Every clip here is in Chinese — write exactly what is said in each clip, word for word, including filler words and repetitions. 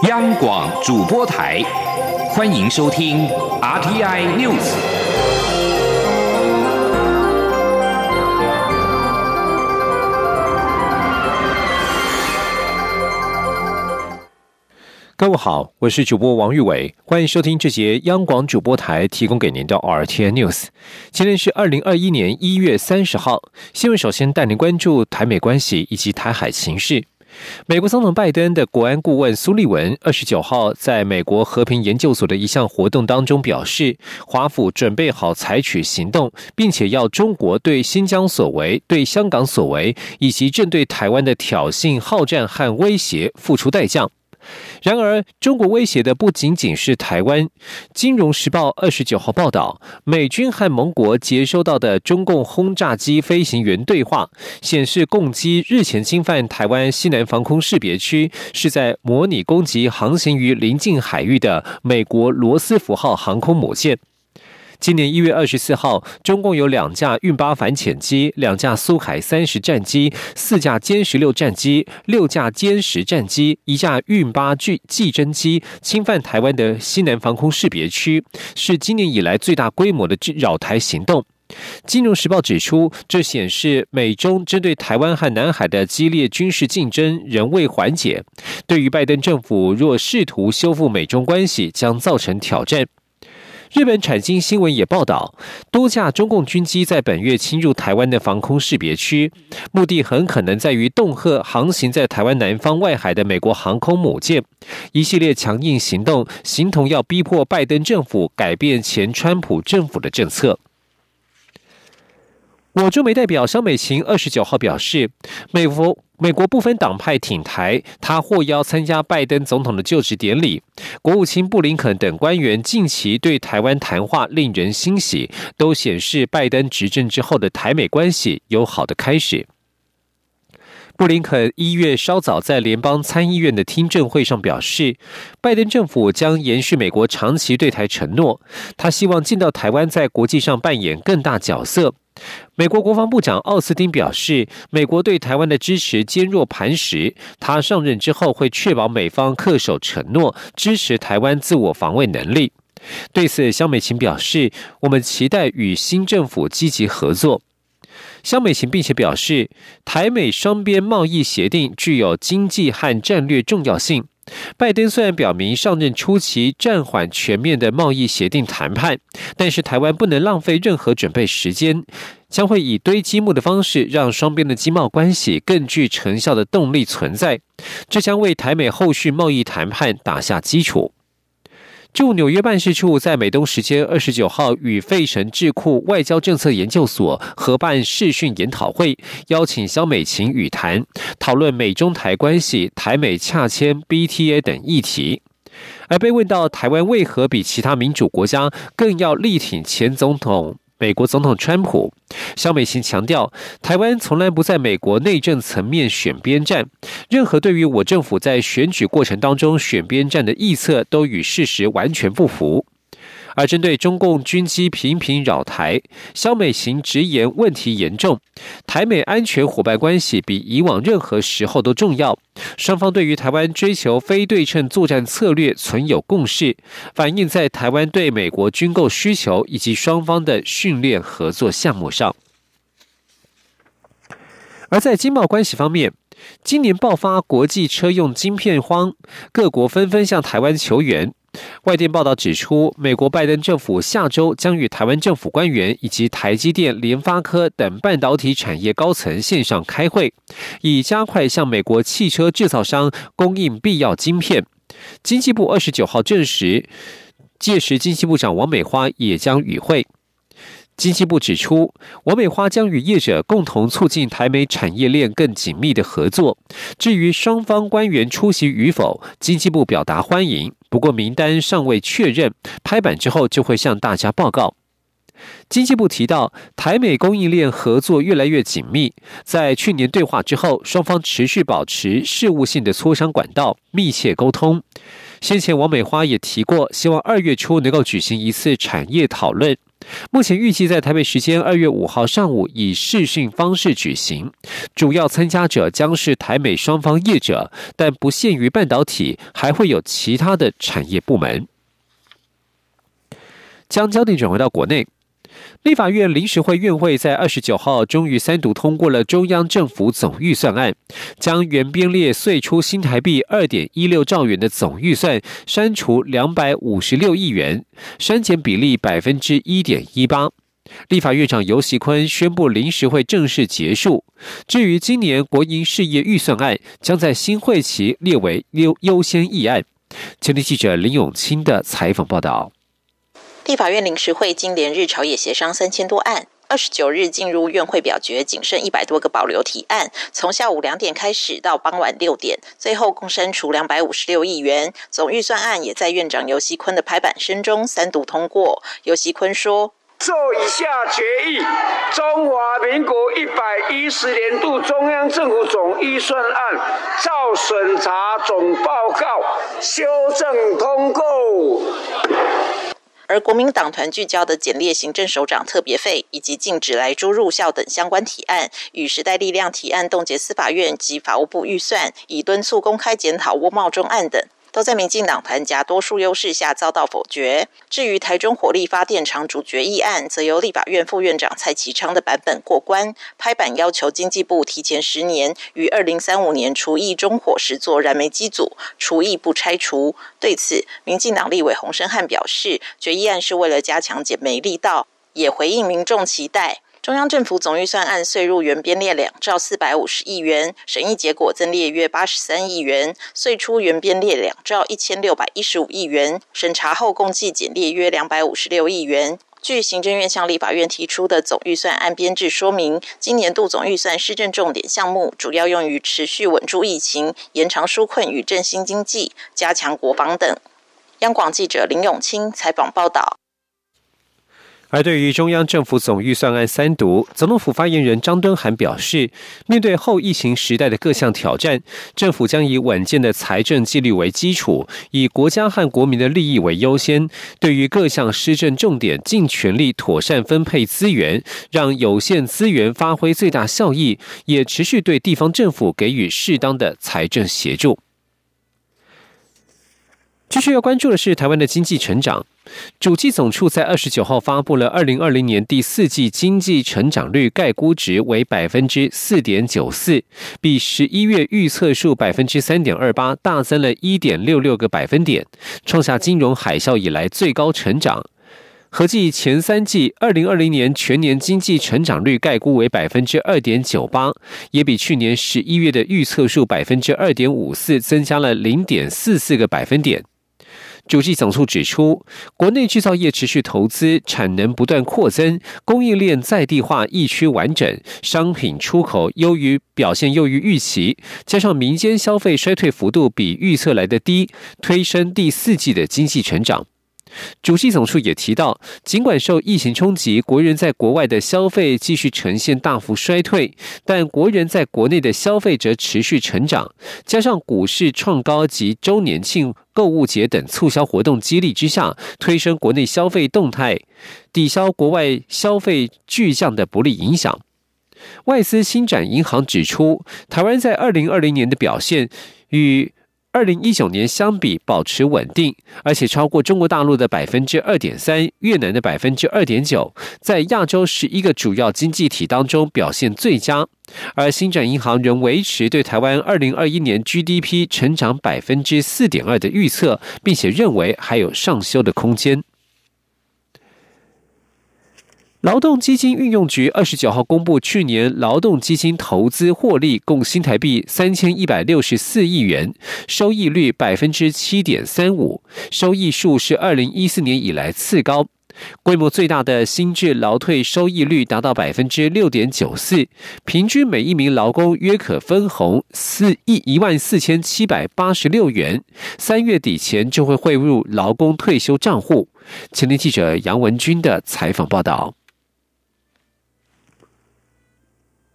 央广主播台，欢迎收听 R T I News。 各位好，我是主播王玉伟，欢迎收听这节央广主播台提供给您的 R T I News。今天是二零二一年一月三十号，新闻首先带您关注台美关系以及台海情势。美国总统拜登的国安顾问苏利文二十九号在美国和平研究所的一项活动当中表示，华府准备好采取行动，并且要中国对新疆所为、对香港所为，以及正对台湾的挑衅、好战和威胁付出代价。然而，中国威胁的不仅仅是台湾。金融时报二十九号报道，美军和盟国接收到的中共轰炸机飞行员对话显示，共机日前侵犯台湾西南防空识别区，是在模拟攻击航行于邻近海域的美国罗斯福号航空母舰。今年一月二十四号，中共有两架运八反潜机、两架苏海三十战机、四架歼十六战机、六架歼十战机、一架运八技侦机侵犯台湾的西南防空识别区，是今年以来最大规模的扰台行动。金融时报指出，这显示美中针对台湾和南海的激烈军事竞争仍未缓解，对于拜登政府若试图修复美中关系将造成挑战。日本产经新闻也报道，多架中共军机在本月侵入台湾的防空识别区，目的很可能在于恫吓航行在台湾南方外海的美国航空母舰。一系列强硬行动，形同要逼迫拜登政府改变前川普政府的政策。我驻美代表萧美琴二十九号表示，美国美国部分党派挺台，他获邀参加拜登总统的就职典礼。国务卿布林肯等官员近期对台湾谈话令人欣喜，都显示拜登执政之后的台美关系有好的开始。布林肯一月稍早在联邦参议院的听证会上表示，拜登政府将延续美国长期对台承诺，他希望见到台湾在国际上扮演更大角色。美国国防部长奥斯汀表示，美国对台湾的支持坚若磐石，他上任之后会确保美方恪守承诺，支持台湾自我防卫能力。对此，萧美琴表示，我们期待与新政府积极合作。萧美琴并且表示，台美双边贸易协定具有经济和战略重要性。拜登虽然表明上任初期暂缓全面的贸易协定谈判，但是台湾不能浪费任何准备时间，将会以堆积木的方式让双边的经贸关系更具成效的动力存在，这将为台美后续贸易谈判打下基础。驻纽约办事处在美东时间二十九号与费城智库外交政策研究所合办视讯研讨会，邀请萧美琴与谈，讨论美中台关系、台美洽签 B T A 等议题。而被问到台湾为何比其他民主国家更要力挺前总统美国总统川普，萧美琴强调，台湾从来不在美国内政层面选边站，任何对于我政府在选举过程当中选边站的臆测都与事实完全不符。而针对中共军机频频扰台，萧美琴直言问题严重，台美安全伙伴关系比以往任何时候都重要，双方对于台湾追求非对称作战策略存有共识，反映在台湾对美国军购需求以及双方的训练合作项目上。而在经贸关系方面，今年爆发国际车用晶片荒，各国纷纷向台湾求援。外电报道指出，美国拜登政府下周将与台湾政府官员以及台积电、联发科等半导体产业高层线上开会，以加快向美国汽车制造商供应必要晶片。经济部二十九号证实，届时经济部长王美花也将与会。经济部指出，王美花将与业者共同促进台美产业链更紧密的合作。至于双方官员出席与否，经济部表达欢迎，不过名单尚未确认，拍板之后就会向大家报告。经济部提到，台美供应链合作越来越紧密，在去年对话之后，双方持续保持事务性的磋商管道，密切沟通。先前王美花也提过，希望二月初能够举行一次产业讨论。 目前预计在台北时间二月五号上午以视讯方式举行，主要参加者将是台美双方业者，但不限于半导体，还会有其他的产业部门。将焦点转回到国内，立法院临时会院会在二十九号终于三读通过了中央政府总预算案，将原编列岁出新台币 二点一六兆元的总预算删除两百五十六亿元，删减比例 百分之一点一八。立法院长游锡堃宣布临时会正式结束。至于今年国营事业预算案，将在新会期列为优优先议案。前天记者林永清的采访报道。 立法院临时会经连日朝野协商三千多案，二十九日进入院会表决，仅剩一百多个保留提案。从下午两点开始到傍晚六点，最后共删除两百五十六亿元。总预算案也在院长游锡堃的拍板声中三读通过。游锡堃说：“ 做以下决议：中华民国一百一十年度中央政府总预算案照审查总报告修正通过。” 而国民党团聚焦的检列行政首长特别费以及禁止来猪入校等相关提案，与时代力量提案冻结司法院及法务部预算，以敦促公开检讨窝茂中案等，都在民进党团夹多数优势下遭到否决。至于台中火力发电厂主决议案，则由立法院副院长蔡其昌的版本过关，拍板要求经济部提前十年于二零三五年除役中火时做燃煤机组，除役不拆除。对此，民进党立委洪申翰表示，决议案是为了加强减煤力道，也回应民众期待。中央政府总预算案岁入原编列两兆四百五十亿元，审议结果增列约八十三亿元，岁出原编列两兆一千六百一十五亿元，审查后共计减列约两百五十六亿元。据行政院向立法院提出的总预算案编制说明，今年度总预算施政重点项目主要用于持续稳住疫情、延长纾困与振兴经济、加强国防等。央广记者林永清采访报道。 而对于中央政府总预算案三读，总统府发言人张敦涵表示，面对后疫情时代的各项挑战，政府将以稳健的财政纪律为基础，以国家和国民的利益为优先，对于各项施政重点尽全力妥善分配资源，让有限资源发挥最大效益，也持续对地方政府给予适当的财政协助。继续要关注的是台湾的经济成长。主计总处在二十九号发布了二零二零年第四季经济成长率概估值为 百分之四点九四， 比十一月预测数 百分之三点二八 大增了 一点六六个百分点，创下金融海啸以来最高成长。合计前三季二零二零年全年经济成长率概估为 百分之二点九八， 也比去年十一月的预测数 百分之二点五四 增加了 零点四四个百分点。主计总处指出，国内制造业持续投资，产能不断扩增，供应链在地化疫区完整，商品出口优于表现优于预期，加上民间消费衰退幅度比预测来的低，推升第四季的经济成长。主计总处也提到，尽管受疫情冲击，国人在国外的消费继续呈现大幅衰退，但国人在国内的消费则持续成长，加上股市创高及周年庆、购物节等促销活动激励之下，推升国内消费动态，抵消国外消费巨降的不利影响。外资星展银行指出，台湾在二零二零年的表现与二零一九年相比保持稳定，而且超过中国大陆的 百分之二点三， 越南的 百分之二点九， 在亚洲十一个主要经济体当中表现最佳。而星展银行仍维持对台湾二零二一年 G D P 成长 百分之四点二 的预测，并且认为还有上修的空间。劳动基金运用局二十九号公布，去年劳动基金投资获利共新台币三千一百六十四亿元，收益率 百分之七点三五， 收益数是二零一四年以来次高。规模最大的新制劳退收益率达到 百分之六点九四， 平均每一名劳工约可分红一万四千七百八十六元，三月底前就会汇入劳工退休账户。前天记者杨文君的采访报道。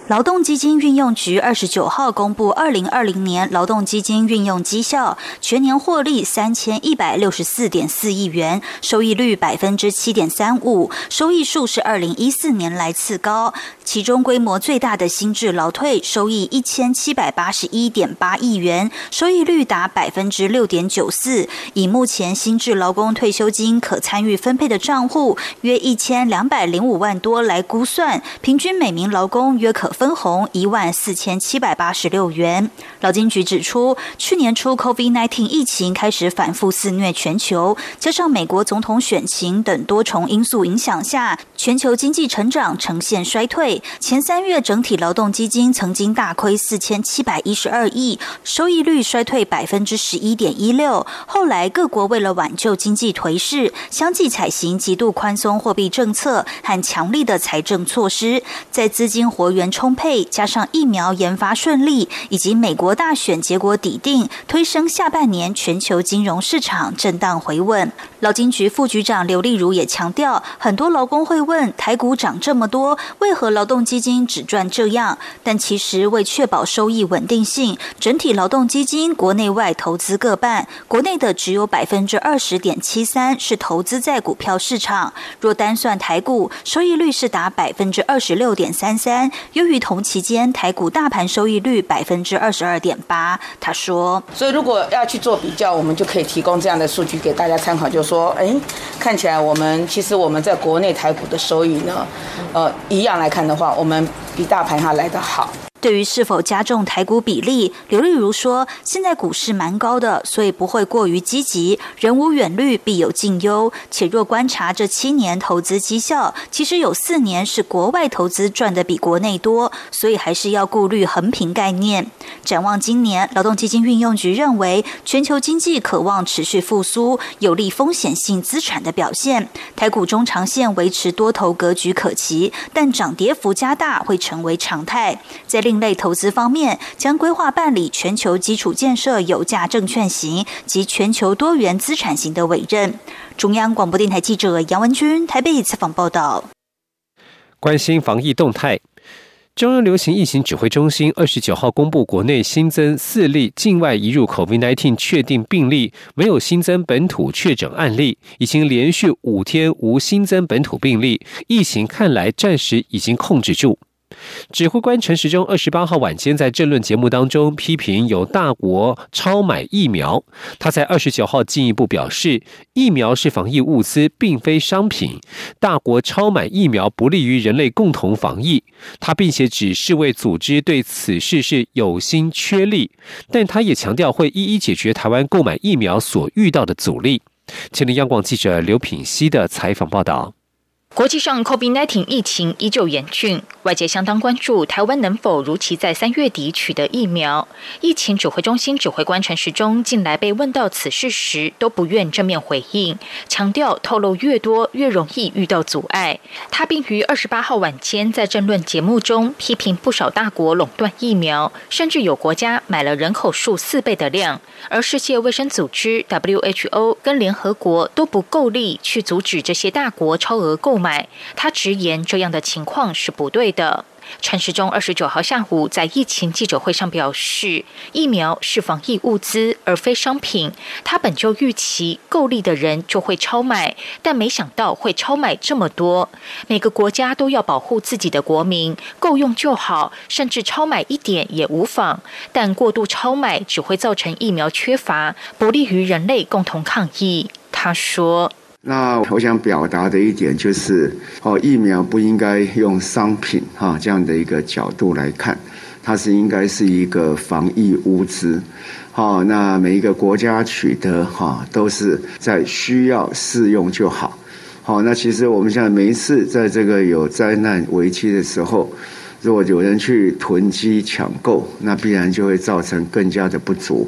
劳动基金运用局二十九号公布二零二零年劳动基金运用绩效，全年获利三千一百六十四点四亿元，收益率百分之七点三五，收益数是二零一四年来次高。其中规模最大的新制劳退收益一千七百八十一点八亿元，收益率达百分之六点九四。以目前新制劳工退休金可参与分配的账户约一千两百零五万多来估算，平均每名劳工约可分红一万四千七百八十六元。劳金局指出，去年初 COVID 十九 疫情开始反复肆虐全球，加上美国总统选情等多重因素影响下，全球经济成长呈现衰退。前三月整体劳动基金曾经大亏四千七百一十二亿，收益率衰退百分之十一点一六。后来各国为了挽救经济颓势，相继采行极度宽松货币政策和强力的财政措施，在资金活源充沛，加上疫苗研发顺利，以及美国大选结果底定，推升下半年全球金融市场震荡回稳。劳金局副局长刘丽如也强调，很多劳工会问，台股涨这么多，为何劳动基金只赚这样？但其实为确保收益稳定性，整体劳动基金国内外投资各半，国内的只有百分之二十点七三是投资在股票市场。若单算台股，收益率是达百分之二十六点三三，优于同期间台股大盘收益率百分之二十二点八。他说， 所以如果要去做比较，我们就可以提供这样的数据给大家参考，就是说，哎，看起来我们其实我们在国内台股的收益呢，呃，一样来看的话，我们比大盘还来得好。 对于是否加重台股比例，刘丽如说，现在股市蛮高的，所以不会过于积极，人无远虑必有近忧，且若观察这七年投资绩效，其实有四年是国外投资赚的比国内多，所以还是要顾虑横平概念。展望今年，劳动基金运用局认为，全球经济可望持续复苏，有利风险性资产的表现，台股中长线维持多头格局可期，但涨跌幅加大会成为常态。在另类投资方面，将规划办理全球基础建设有价证券型及全球多元资产型的委任。中央广播电台记者杨文君台北采访报道。 关心防疫动态，中央流行疫情指挥中心二十九号公布，国内新增四例境外移入 COVID 十九 确定病例，没有新增本土确诊案例，已经连续五天无新增本土病例，疫情看来暂时已经控制住。指挥官陈时中二十八号晚间在政论节目当中批评有大国超买疫苗，他在二十九号进一步表示，疫苗是防疫物资，并非商品，大国超买疫苗不利于人类共同防疫。他并且指世卫组织对此事是有心缺力，但他也强调会一一解决台湾购买疫苗所遇到的阻力。前天央广记者刘品希的采访报道。 国际上 COVID 十九 疫情依旧严峻，外界相当关注台湾能否如期在三月底取得疫苗。疫情指挥中心指挥官陈时中近来被问到此事时，都不愿正面回应，强调透露越多越容易遇到阻碍。他并于二十八号晚间在政论节目中批评不少大国垄断疫苗，甚至有国家买了人口数四倍的量，而世界卫生组织 W H O 跟联合国都不够力去阻止这些大国超额购买。他直言这样的情况是不对的。陈时中二十九号下午在疫情记者会上表示，疫苗是防疫物资而非商品，他本就预期够力的人就会超买，但没想到会超买这么多。每个国家都要保护自己的国民，够用就好，甚至超买一点也无妨，但过度超买只会造成疫苗缺乏，不利于人类共同抗疫。他说， 那我想表达的一点就是，哦，疫苗不应该用商品哈这样的一个角度来看，它是应该是一个防疫物资，好，那每一个国家取得哈都是在需要适用就好，好，那其实我们现在每一次在这个有灾难危机的时候，如果有人去囤积抢购，那必然就会造成更加的不足。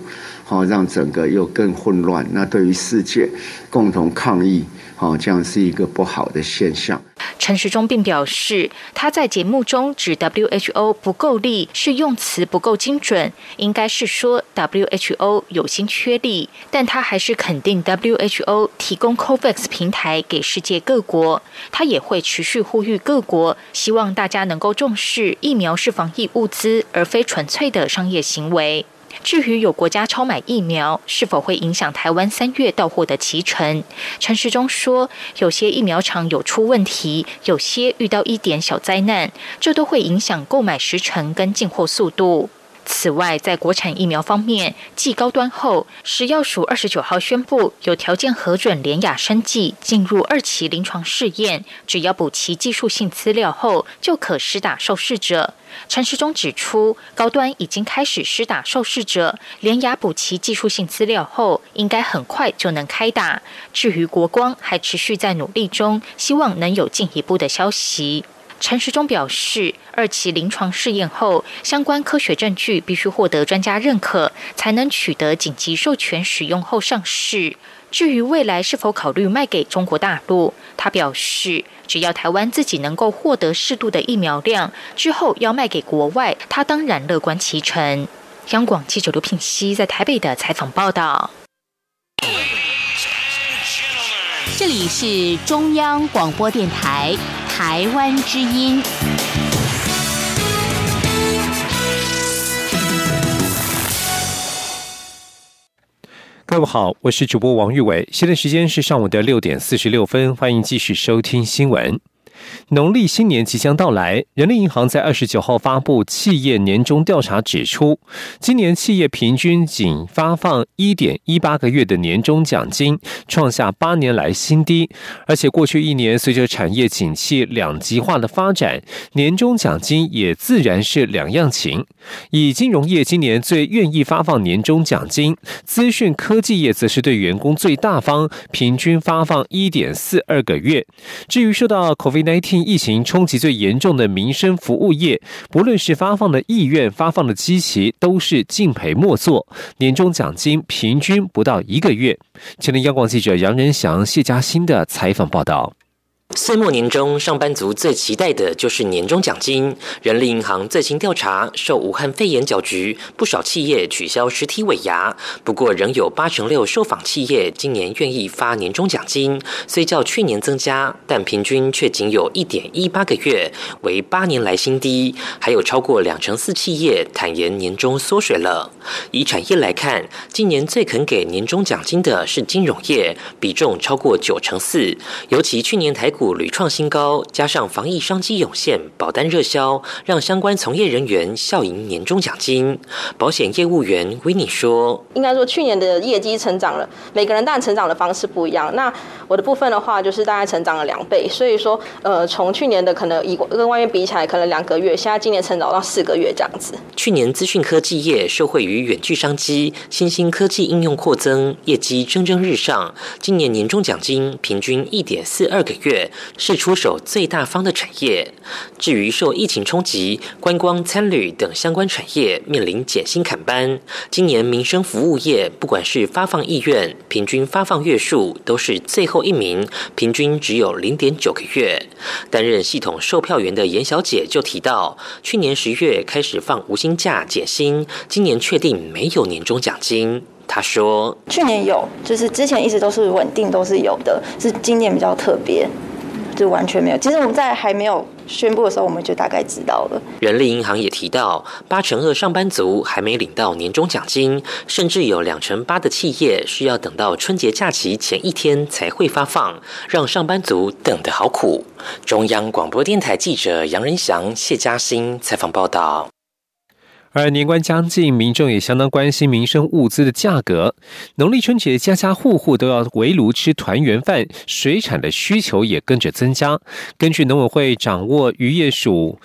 好，让整个又更混乱。那对于世界共同抗疫，好，这样是一个不好的现象。 陈时中并表示，他在节目中指 W H O 不够力是用词不够精准，应该是说 W H O 有心缺力，但他还是肯定 W H O 提供 COVAX 平台给世界各国。他也会持续呼吁各国，希望大家能够重视疫苗是防疫物资，而非纯粹的商业行为。至于有国家超买疫苗，是否会影响台湾三月到货的期程？陈时中说，有些疫苗厂有出问题，有些遇到一点小灾难，这都会影响购买时程跟进货速度。此外，在国产疫苗方面，继高端后，食药署二十九号宣布有条件核准联亚生技进入二期临床试验，只要补齐技术性资料后，就可施打受试者。陈时中指出，高端已经开始施打受试者，联亚补齐技术性资料后，应该很快就能开打。至于国光，还持续在努力中，希望能有进一步的消息。陈时中表示，二期临床试验后，相关科学证据必须获得专家认可，才能取得紧急授权使用后上市。至于未来是否考虑卖给中国大陆，他表示，只要台湾自己能够获得适度的疫苗量，之后要卖给国外，他当然乐观其成。央广记者刘聘熙在台北的采访报道。 这里是中央广播电台台湾之音。 各位好，我是主播王玉伟，现在时间是上午的六点四十六分，欢迎继续收听新闻。农历新年即将到来，人力银行在二十九号发布企业年终调查指出，今年企业平均仅发放 一点一八 个月的年终奖金，创下八年来新低。而且过去一年随着产业景气两极化的发展，年终奖金也自然是两样情。以金融业今年最愿意发放年终奖金，资讯科技业则是对员工最大方，平均发放 一点四二 个月。至于受到 COVID 十九 疫情冲击最严重的民生服务业，不论是发放的意愿、发放的基期，都是敬陪末座，年终奖金平均不到一个月。前天央广记者杨仁祥、谢嘉欣的采访报道。 岁末年终，上班族最期待的就是年终奖金。人力银行最新调查，受武汉肺炎搅局，不少企业取消实体尾牙。不过，仍有八成六受访企业今年愿意发年终奖金，虽较去年增加，但平均却仅有 一点一八 个月，为八年来新低。还有超过两成四企业坦言年终缩水了。以产业来看，今年最肯给年终奖金的是金融业，比重超过九成四。尤其去年台股屡创新高，加上防疫商机涌现，保单热销，让相关从业人员笑迎年终奖金。保险业务员维尼说：“ 应该说去年的业绩成长了，每个人当然成长的方式不一样。那我的部分的话，就是大概成长了两倍，所以说，呃，从去年的可能以跟外面比起来，可能两个月，现在今年成长到四个月这样子。 去年资讯科技业受惠于远距商机、新兴科技应用扩增，业绩蒸蒸日上。今年年终奖金平均 一点四二 个月。”是出手最大方的产业。至于受疫情冲击，观光、餐旅等相关产业面临减薪砍班。今年民生服务业，不管是发放意愿、平均发放月数，都是最后一名，平均只有 零点九 个月。担任系统售票员的严小姐就提到，去年十月开始放无薪假减薪，今年确定没有年终奖金。他说：“ 去年有，就是之前一直都是稳定，都是有的，是今年比较特别。”就完全没有。其实我们在还没有宣布的时候，我们就大概知道了。 人力银行也提到，八成二上班族还没领到年终奖金，甚至有两成八的企业需要等到春节假期前一天才会发放，让上班族等得好苦。中央广播电台记者杨仁祥、谢嘉欣采访报道。 而年关将近，民众也相当关心民生物资的价格。农历春节，家家户户都要围炉吃团圆饭，水产的需求也跟着增加。根据农委会掌握渔业署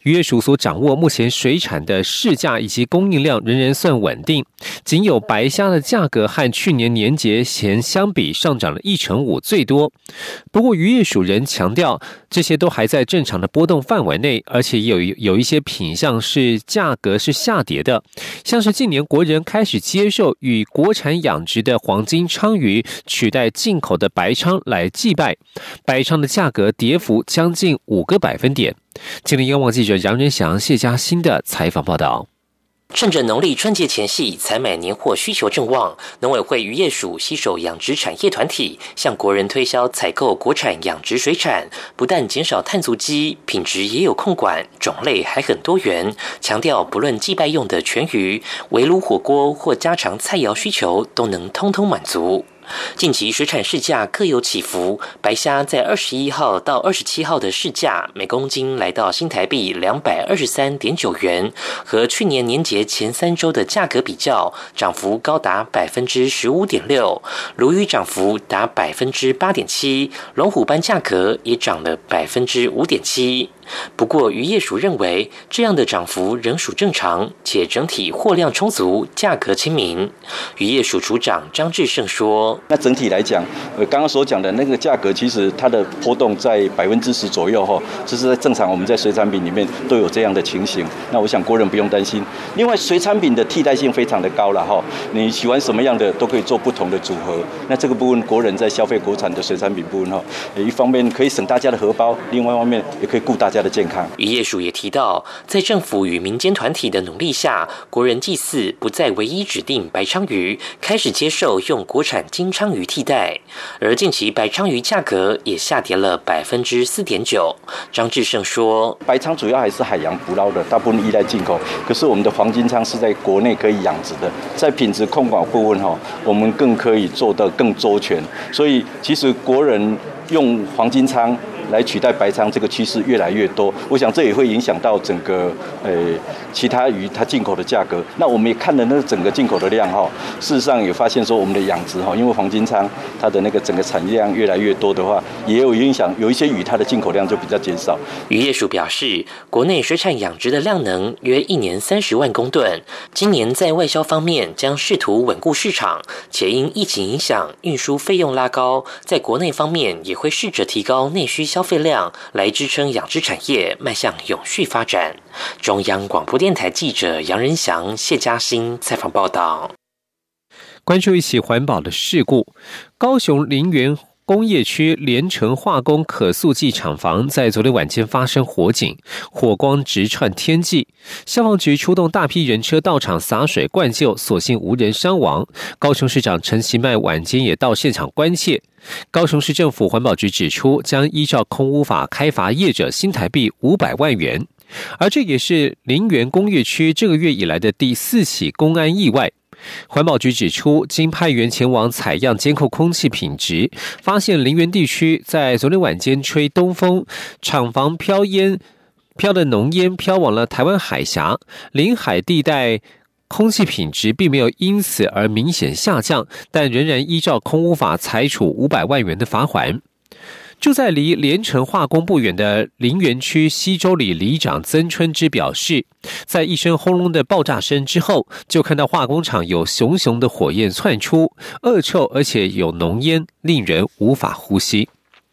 渔业署所掌握目前水产的市价以及供应量仍然算稳定，仅有白虾的价格和去年年节前相比上涨了一成五最多。不过渔业署仍强调，这些都还在正常的波动范围内，而且有有一些品项是价格是下跌的，像是近年国人开始接受与国产养殖的黄金鲳鱼取代进口的白鲳来祭拜，白鲳的价格跌幅将近五个百分点。今天央广记者杨仁祥、谢嘉欣的采访报道。 趁着农历春节前夕，采买年货需求正旺，农委会渔业署携手养殖产业团体，向国人推销采购国产养殖水产，不但减少碳足迹，品质也有控管，种类还很多元。强调不论祭拜用的全鱼、围炉火锅或家常菜肴需求，都能通通满足。近期水产市价各有起伏，白虾在二十一号到二十七号的市价每公斤来到新台币两百二十三点九元，和去年年节前三周的价格比较，涨幅高达百分之十五点六，鲈鱼涨幅达百分之八点七，龙虎斑价格也涨了百分之五点七。不过渔业署认为，这样的涨幅仍属正常，且整体货量充足，价格亲民。渔业署署长张志胜说：“ 那整体来讲，呃，刚刚所讲的那个价格，其实它的波动在百分之十左右哈，这是在正常我们在水产品里面都有这样的情形。那我想国人不用担心。另外，水产品的替代性非常的高了哈，你喜欢什么样的都可以做不同的组合。那这个部分，国人在消费国产的水产品部分哈，一方面可以省大家的荷包，另外一方面也可以顾大家的健康。” 渔业署也提到，在政府与民间团体的努力下，国人祭祀不再唯一指定白鲳鱼，开始接受用国产金鲳鱼替代。而近期白鲳鱼价格也下跌了百分之四点九。张志胜说：“ 白鲳主要还是海洋捕捞的，大部分依赖进口。可是我们的黄金鲳是在国内可以养殖的，在品质控管部分哈，我们更可以做得更周全。所以其实国人用黄金鲳来取代白鲳这个趋势越来越多，我想这也会影响到整个呃其他鱼它进口的价格。那我们也看了那整个进口的量哈，事实上也发现说我们的养殖哈，因为黄金鲳它的那个整个产量越来越多的话，也有影响，有一些鱼它的进口量就比较减少。 渔业署表示，国内水产养殖的量能约一年三十万公吨，今年在外销方面将试图稳固市场，且因疫情影响，运输费用拉高，在国内方面也会试着提高内需消费量，来支撑养殖产业迈向永续发展。中央广播电台记者杨仁祥、谢嘉欣采访报道。 关注一起环保的事故，高雄林园工业区联成化工可塑剂厂房在昨天晚间发生火警，火光直窜天际，消防局出动大批人车到场洒水灌救，所幸无人伤亡。高雄市长陈其迈晚间也到现场关切。高雄市政府环保局指出，将依照空污法开罚业者新台币五百万元，而这也是林园工业区这个月以来的第四起公安意外。环保局指出，经派员前往采样监控空气品质，发现林园地区在昨天晚间吹东风，厂房飘烟飘的浓烟飘往了台湾海峡，临海地带空气品质并没有因此而明显下降，但仍然依照空污法裁处五百万元的罚锾。住在离联成化工不远的林园区西周里里长曾春之表示，在一声轰隆的爆炸声之后，就看到化工厂有熊熊的火焰窜出，恶臭而且有浓烟，令人无法呼吸。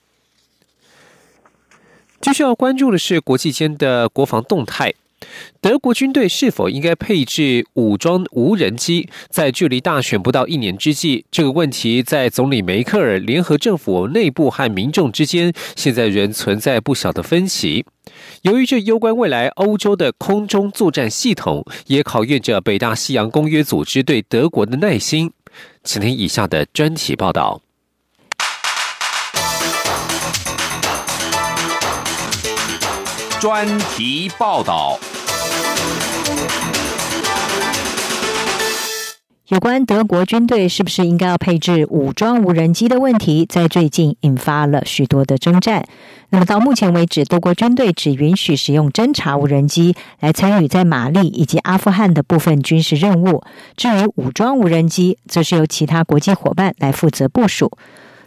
继续要关注的是国际间的国防动态。德国军队是否应该配置武装无人机？在距离大选不到一年之际，这个问题在总理梅克尔联合政府内部和民众之间，现在仍存在不小的分歧。由于这攸关未来欧洲的空中作战系统，也考验着北大西洋公约组织对德国的耐心。请听以下的专题报道。 专题报道。 有关德国军队是不是应该要配置武装无人机的问题，在最近引发了许多的征战。那么到目前为止，德国军队只允许使用侦察无人机来参与在马利以及阿富汗的部分军事任务，至于武装无人机，则是由其他国际伙伴来负责部署。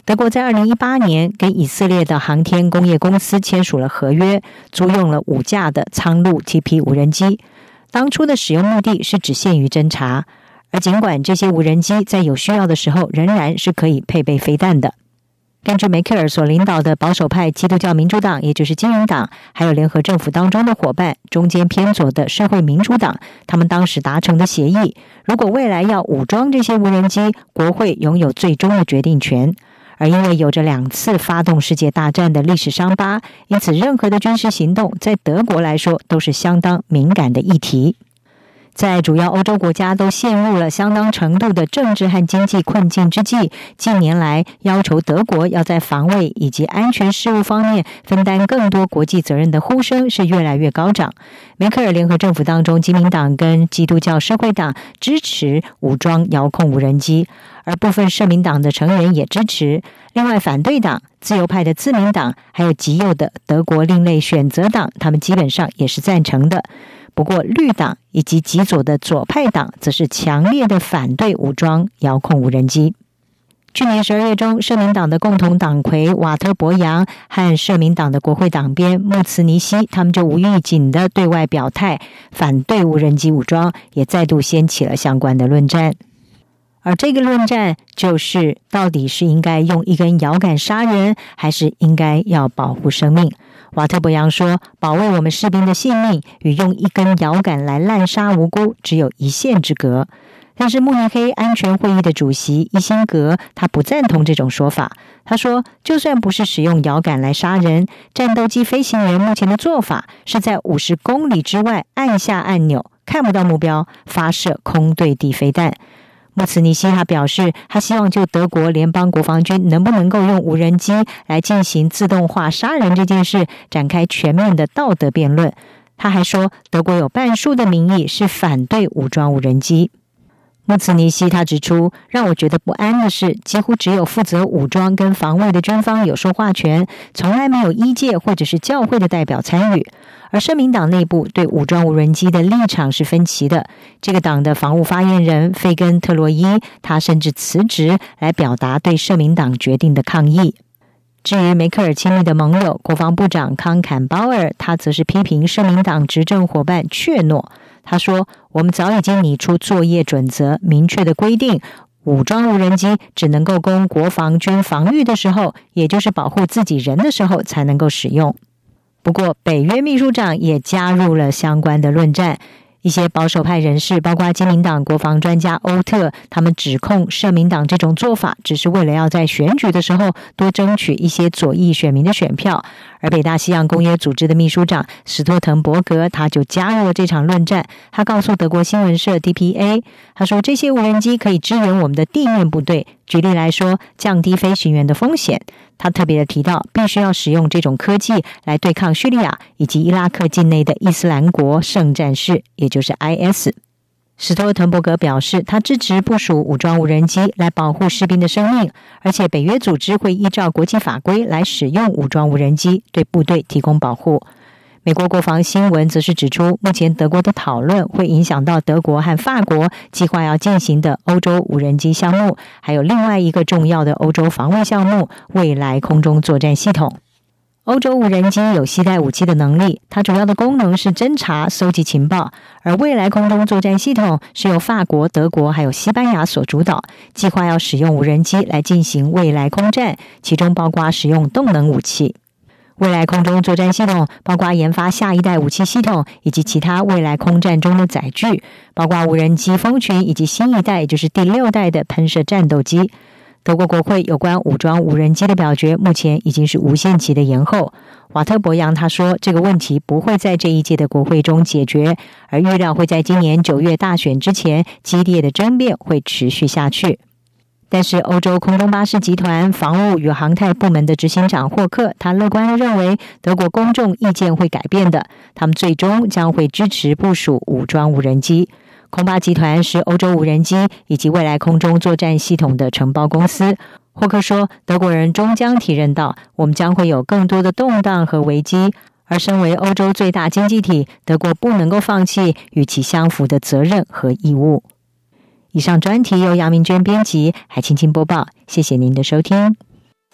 德国在二零一八年跟以色列的航天工业公司签署了合约，租用了五架的苍鹭 T P 无人机。当初的使用目的是只限于侦察，而尽管这些无人机在有需要的时候仍然是可以配备飞弹的。根据梅克尔所领导的保守派基督教民主党，也就是金融党，还有联合政府当中的伙伴中间偏左的社会民主党，他们当时达成的协议，如果未来要武装这些无人机，国会拥有最终的决定权。而因为有着两次发动世界大战的历史伤疤，因此任何的军事行动在德国来说都是相当敏感的议题。在主要欧洲国家都陷入了相当程度的政治和经济困境之际，近年来要求德国要在防卫以及安全事务方面分担更多国际责任的呼声是越来越高涨。梅克尔联合政府当中，基民党跟基督教社会党支持武装遥控无人机，而部分社民党的成员也支持。另外，反对党、自由派的自民党还有极右的德国另类选择党，他们基本上也是赞成的。不过绿党以及极左的左派党则是强烈的反对武装遥控无人机。去年十二月中，社民党的共同党魁瓦特伯扬和社民党的国会党鞭穆茨尼希，他们就无预警的对外表态反对无人机武装，也再度掀起了相关的论战。而这个论战就是到底是应该用一根摇杆杀人，还是应该要保护生命。瓦特伯扬说，保卫我们士兵的性命与用一根摇杆来滥杀无辜只有一线之隔。但是慕尼黑安全会议的主席伊辛格他不赞同这种说法。他说，就算不是使用摇杆来杀人，战斗机飞行员目前的做法是在五十公里之外按下按钮，看不到目标，发射空对地飞弹。穆茨尼希他表示，他希望就德国联邦国防军能不能够用无人机来进行自动化杀人这件事展开全面的道德辩论。他还说，德国有半数的民意是反对武装无人机。穆茨尼希他指出，让我觉得不安的是，几乎只有负责武装跟防卫的军方有说话权，从来没有医界或者是教会的代表参与。而社民党内部对武装无人机的立场是分歧的。这个党的防务发言人费根特洛伊，他甚至辞职来表达对社民党决定的抗议。至于梅克尔亲密的盟友国防部长康坎鲍尔，他则是批评社民党执政伙伴怯懦。他说，我们早已经拟出作业准则，明确的规定武装无人机只能够供国防军防御的时候，也就是保护自己人的时候才能够使用。不过北约秘书长也加入了相关的论战。一些保守派人士，包括基民党国防专家欧特，他们指控社民党这种做法只是为了要在选举的时候多争取一些左翼选民的选票。而北大西洋公约组织的秘书长史托滕伯格，他就加入了这场论战。他告诉德国新闻社 D P A， 他说，这些无人机可以支援我们的地面部队，举例来说，降低飞行员的风险。他特别的提到，必须要使用这种科技来对抗叙利亚以及伊拉克境内的伊斯兰国圣战士，也就是 I S。 史托滕伯格表示，他支持部署武装无人机来保护士兵的生命，而且北约组织会依照国际法规来使用武装无人机对部队提供保护。美国国防新闻则是指出，目前德国的讨论会影响到德国和法国计划要进行的欧洲无人机项目，还有另外一个重要的欧洲防卫项目——未来空中作战系统。欧洲无人机有携带武器的能力，它主要的功能是侦察、搜集情报，而未来空中作战系统是由法国、德国还有西班牙所主导，计划要使用无人机来进行未来空战，其中包括使用动能武器。未来空中作战系统包括研发下一代武器系统以及其他未来空战中的载具，包括无人机蜂群以及新一代，也就是第六代的喷射战斗机。德国国会有关武装无人机的表决目前已经是无限期的延后。瓦特伯扬他说，这个问题不会在这一届的国会中解决，而预料会在今年九月大选之前，激烈的争辩会持续下去。但是欧洲空中巴士集团防务与航太部门的执行长霍克，他乐观地认为德国公众意见会改变的，他们最终将会支持部署武装无人机。空巴集团是欧洲无人机以及未来空中作战系统的承包公司。霍克说，德国人终将体认到，我们将会有更多的动荡和危机，而身为欧洲最大经济体，德国不能够放弃与其相符的责任和义务。以上专题由杨明娟编辑，海青青播报，谢谢您的收听。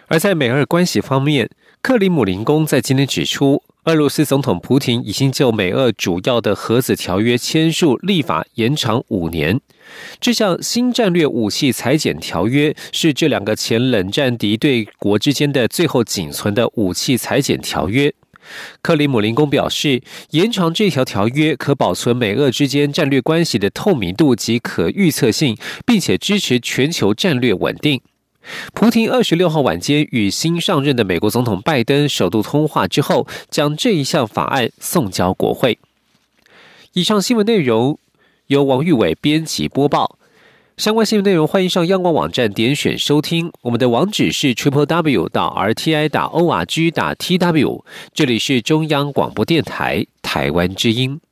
而在美俄关系方面，克里姆林宫在今天指出，俄罗斯总统普亭已经就美俄主要的核子条约签署立法延长五年。这项新战略武器裁减条约是这两个前冷战敌对国之间的最后仅存的武器裁减条约。克里姆林宫表示，延长这条条约可保存美俄之间战略关系的透明度及可预测性，并且支持全球战略稳定。普亭二十六号晚间与新上任的美国总统拜登首度通话之后，将这一项法案送交国会。以上新闻内容由王玉伟编辑播报。相关新闻内容欢迎上央广网站点选收听，我们的网址是 triple w 到 r t i 打 o r g 打 t w。这里是中央广播电台台湾之音。